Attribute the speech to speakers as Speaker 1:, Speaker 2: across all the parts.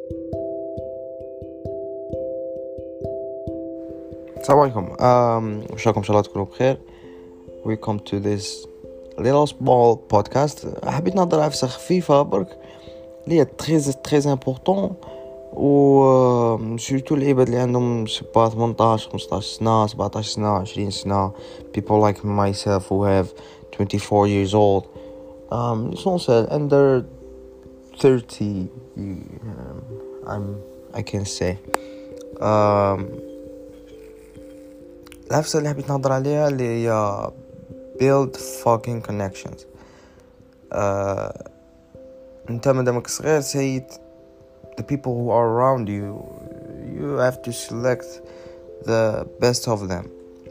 Speaker 1: السلام عليكم. واش راكم؟ ان شاء الله تكونوا بخير. We come to this little small podcast. حبيت نهضر على فسخ خفيفه برك اللي هي تري امبورطون، و سورتو العباد اللي عندهم سبا 18 15 سنه 17 سنه 20 سنه. People like myself who have 24 years old, essential under 30. I can say العفسة اللي حبيت نهضر عليها اللي هي build fucking connections. انت مادامك صغير سيد the people who are around you have to select the best of them,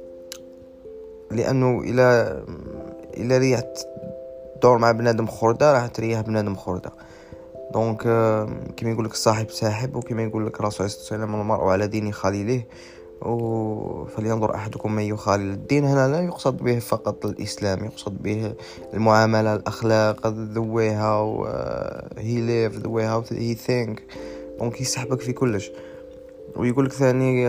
Speaker 1: لأنه إلا ريحت دور مع بنادم خردة راح تريح بنادم خردة. دونك كما يقولك الصاحب ساحب، وكما يقولك الرسول صلى الله عليه وسلم المرء على دين خليله، فلينظر أحدكم من يخالل. الدين هنا لا يقصد به فقط الإسلام، يقصد به المعاملة، الأخلاق، the way how he live, the way how he think. دونك يسحبك في كلش. ويقولك ثاني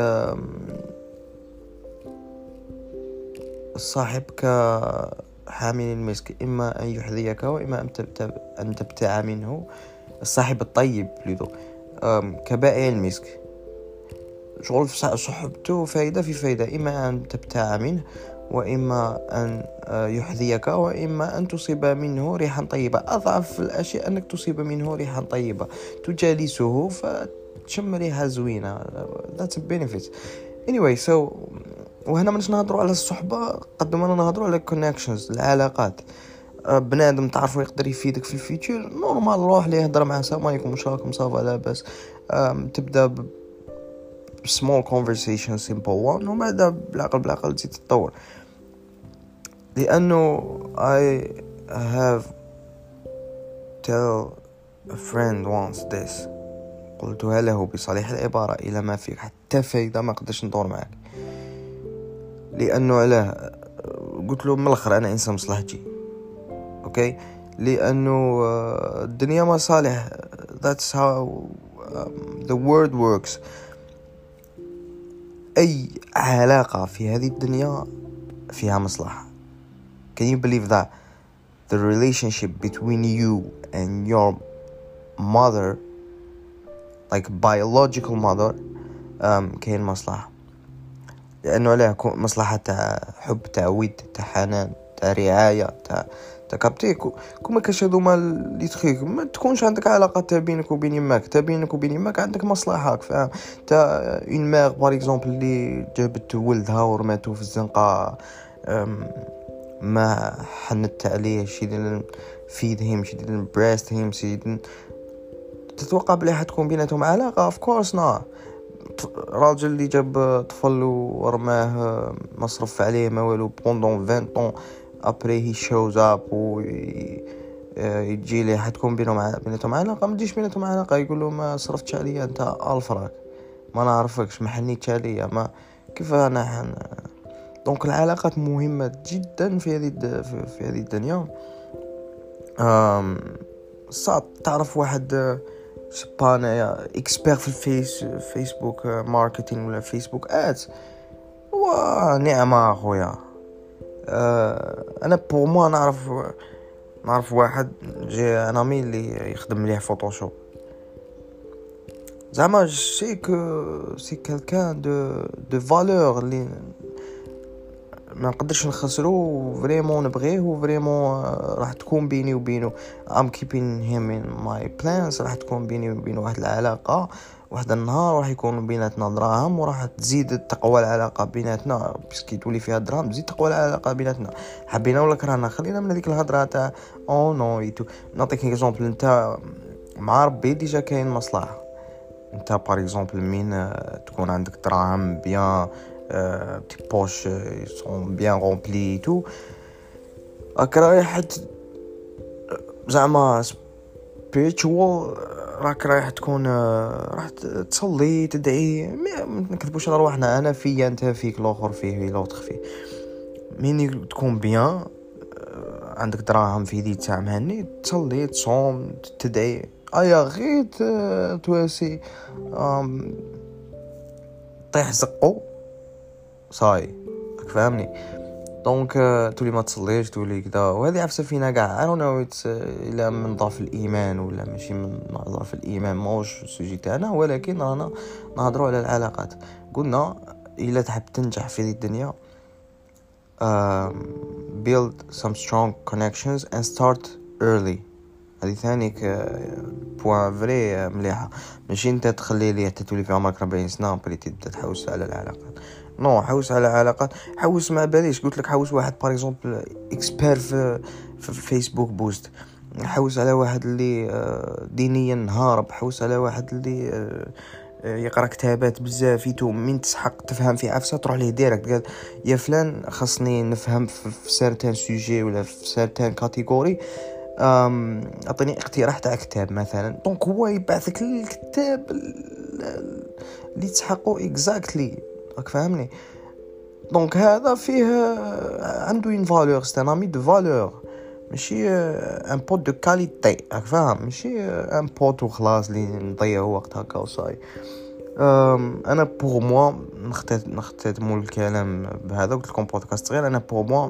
Speaker 1: الصاحب كحامل المسك، إما أن يحذيك وإما أن تبتاع منه. الصاحب الطيب لذو كبائع المسك، شغل صحبته فايدة في فايدة، إما أن تبتاع منه وإما أن يحذيك وإما أن تصيب منه ريحا طيبة. أضعف الأشياء أنك تصيب منه ريحا طيبة، تجالسه فتشم ريحة زوينة. that's a benefit. anyway, so وهنا منش نهضروا على الصحبة قد ما نهضروا على connections، العلاقات. بنادم تعرفه يقدر يفيدك في الفيتشر، نورمال روح ليه هضر معه. السلام عليكم، واش راكم؟ صافا لاباس. تبدا small conversation, simple one، وبعد بالعقل تزيد تتطور. لأنه I have tell a friend once this، قلتها له بصريح العبارة: إلى ما فيك حتى فايدة ما قدرش ندور معك. لأنه علاه قلت له من الآخر أنا إنسان مصلحتي، أوكي؟ لأنه الدنيا مصالح. that's how the world works. أي علاقة في هذه الدنيا فيها مصلحة. Can you believe that the relationship between you and your mother, like biological mother, كاين مصلحة. لأنه عليه مصلحة تاع حب، تاع ود، تاع حنان، تاع رعاية، تاع كابتي. كما كشهدوا ما اللي تخيك ما تكونش عندك علاقه تا بينك وبين يماك، تا بينك وبين يماك عندك مصلحه، فاهم؟ تا اون مير بار اكزومبل اللي جابت ولدها ورماتو في الزنقه، ما حنت عليه شي ديال فيد هيم، شي ديال بريست هيم، شي ديال تتوقع بلي حتكون بيناتهم علاقه؟ اوف كورس نا. راجل اللي جاب طفل ورماه مصرف عليه ما والو بوندون 20 طون، ابري هي شوز اب و يجي لي حتكون بيناتهم علاقه. ما تجيش بيناتهم علاقه يقول له ما صرفتش عليا انت الفراك، ما نعرفكش، ما حنيتش عليا، ما كيف انا دونك العلاقات مهمه جدا في هذه الدنيا. صعب تعرف واحد سبانا اكسبير في فيسبوك ماركتينغ ولا فيسبوك ادز، ونعمه اخويا. انا بور ما نعرف واحد جي انا مي اللي يخدم مليح فوتوشوب، زعما سي كالكان دو فالور اللي ما نقدرش نخسرو، فريمون نبغيه، فريمون راح تكون بيني وبينه I'm keeping him in my plans. راح تكون بيني وبينه واحد العلاقة، واحد النهار راح يكون بيناتنا دراهم، وراح تزيد تقوى العلاقة بيناتنا، بسكي تولي فيها دراهم تزيد تقوى العلاقة بيناتنا، حبينا ولا كرهنا. خلينا من هذيك الهضرة تاع او نو يتو. نعطيك اكزومبل، انت مع ربي ديجا كاين مصلحة. انت بار اكزومبل مين تكون عندك دراهم بيان، tes poches sont bien remplies et tout، راك رايح زعما spiritual، راك رايح تكون راح تصلي تدعي. ما نكذبوش على رواحنا، انا فيا انت فيك، الاخر فيه لوطخ فيه. مين تكون بيان عندك دراهم في يديك تاع مهني، تصلي تصوم تدعي ايا غيت تواسي طيح زقو صاي راك فاهمني. دونك تولي ما تصليش تولي كذا، وهذه عفسه فينا كاع. I don't know it's الا من ضعف الايمان ولا ماشي من ضعف الايمان، موش السوجي تاعنا، ولكن رانا نهضروا على العلاقات. قلنا الا تحب تنجح في الدنيا build some strong connections and start early. هذه ثانيك بوان فري مليحه. ماشي انت تخلي لي حتى تولي في عمرك 40 سنه بلي تبدا تحوس على العلاقات. نو حوس على علاقات، حوس ما باليش. قلت لك حوس واحد باغ اكزومبل اكسبير في فيسبوك بوست، حوس على واحد اللي دينيا نهارب، حوس على واحد اللي يقرا كتابات بزاف يتو من تسحق تفهم في عفسه تروح ليه ديريكت قال يا فلان خاصني نفهم في سيرتان سوجي ولا في سيرتان كاتيجوري، اعطيني اقتراح تاع كتاب مثلا. دونك هو يبعثك الكتاب اللي تسحقه اكزاكتلي، راك فاهمني. دونك هذا فيه عنده اون فالور، سي ان امي دو فالور، ماشي ان بوت دو كاليتي، راك فاهم، ماشي ان بوت وخلاص اللي نضيعوا وقت هكا وصاي. انا بوغ موا نختتموا الكلام بهذا. قلت لكم بودكاست صغير. انا بوغ موا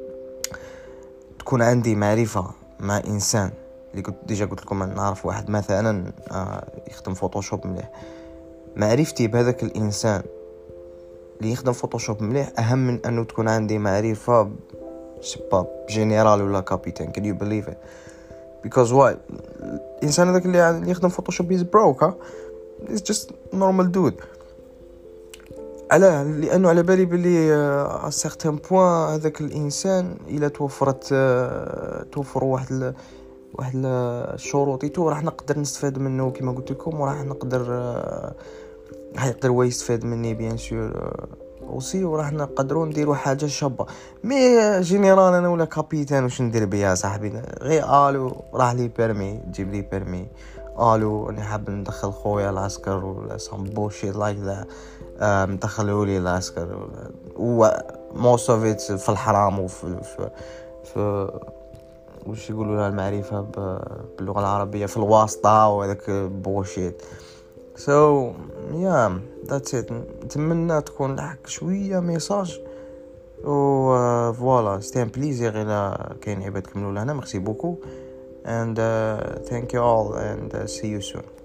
Speaker 1: تكون عندي معرفه مع انسان اللي قلت ديجا، قلت لكم نعرف واحد مثلا يخدم فوتوشوب مليح، معرفتي بهذاك الانسان اللي يخدم فوتوشوب مليح اهم من انه تكون عندي معرفه سباب جنرال ولا كابيتان. can you believe it? because why الانسان هذاك اللي يخدم فوتوشوب is broke it's just normal dude. علاه؟ لانه على بالي بلي ا سيغتان بوين هذاك الانسان الا توفر واحد الشروط يتو راح نقدر نستفاد منه كما قلت لكم، وراح نقدر يقدر هو يستفاد مني بيان سور اوسي، وراح نقدروا نديروا حاجه شابه. مي جينيرال انا ولا كابيتان واش ندير بيا صاحبي؟ غير الو راح لي بيرمي، جيب لي بيرمي، الو انا حاب ندخل خويا العسكر ولا سام بوشيت لايك ذا، ندخلوا لي العسكر و موست اوف ات في الحرام في وش يقولوا لها المعرفه باللغه العربيه في الواسطه وهذاك بوشيت. so yeah that's it. نتمنى تكون لحق شويه ميساج و فوالا. ستي ان بليزير الى كاين عباد كملوا لهنا. ميرسي بوكو and thank you all and see you soon.